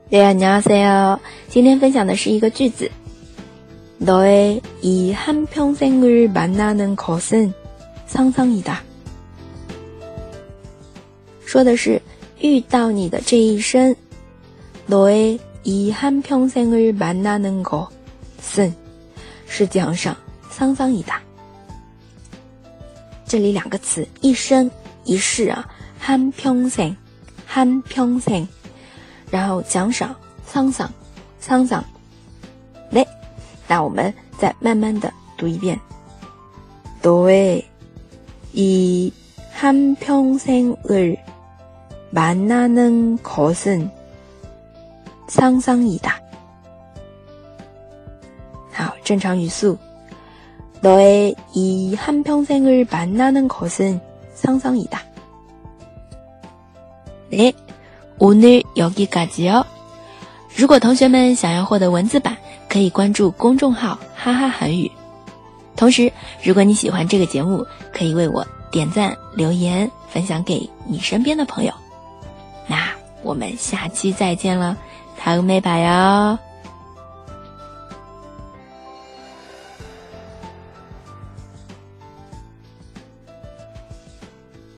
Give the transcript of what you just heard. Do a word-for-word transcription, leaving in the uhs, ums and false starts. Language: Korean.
네, 안녕하세요.今天分享的是一个句子。너의 이 한평생을 만나는 것은 상상이다。说的是遇到你的这一生。너의 이 한평생을 만나는 것은是讲上상상이다。这里两个词，一生一世啊，한평생 한평생，然后奖赏桑桑桑桑。네，那我们再慢慢的读一遍。너의 이 한평생을 만나는 것은 상상이다。好，正常语速。너의 이 한평생을 만나는 것은 상상이다。네，오늘 여기까지요。如果同学们想要获得文字版，可以关注公众号哈哈韩语。同时，如果你喜欢这个节目，可以为我点赞、留言、分享给你身边的朋友。那我们下期再见了，다음에 봐요。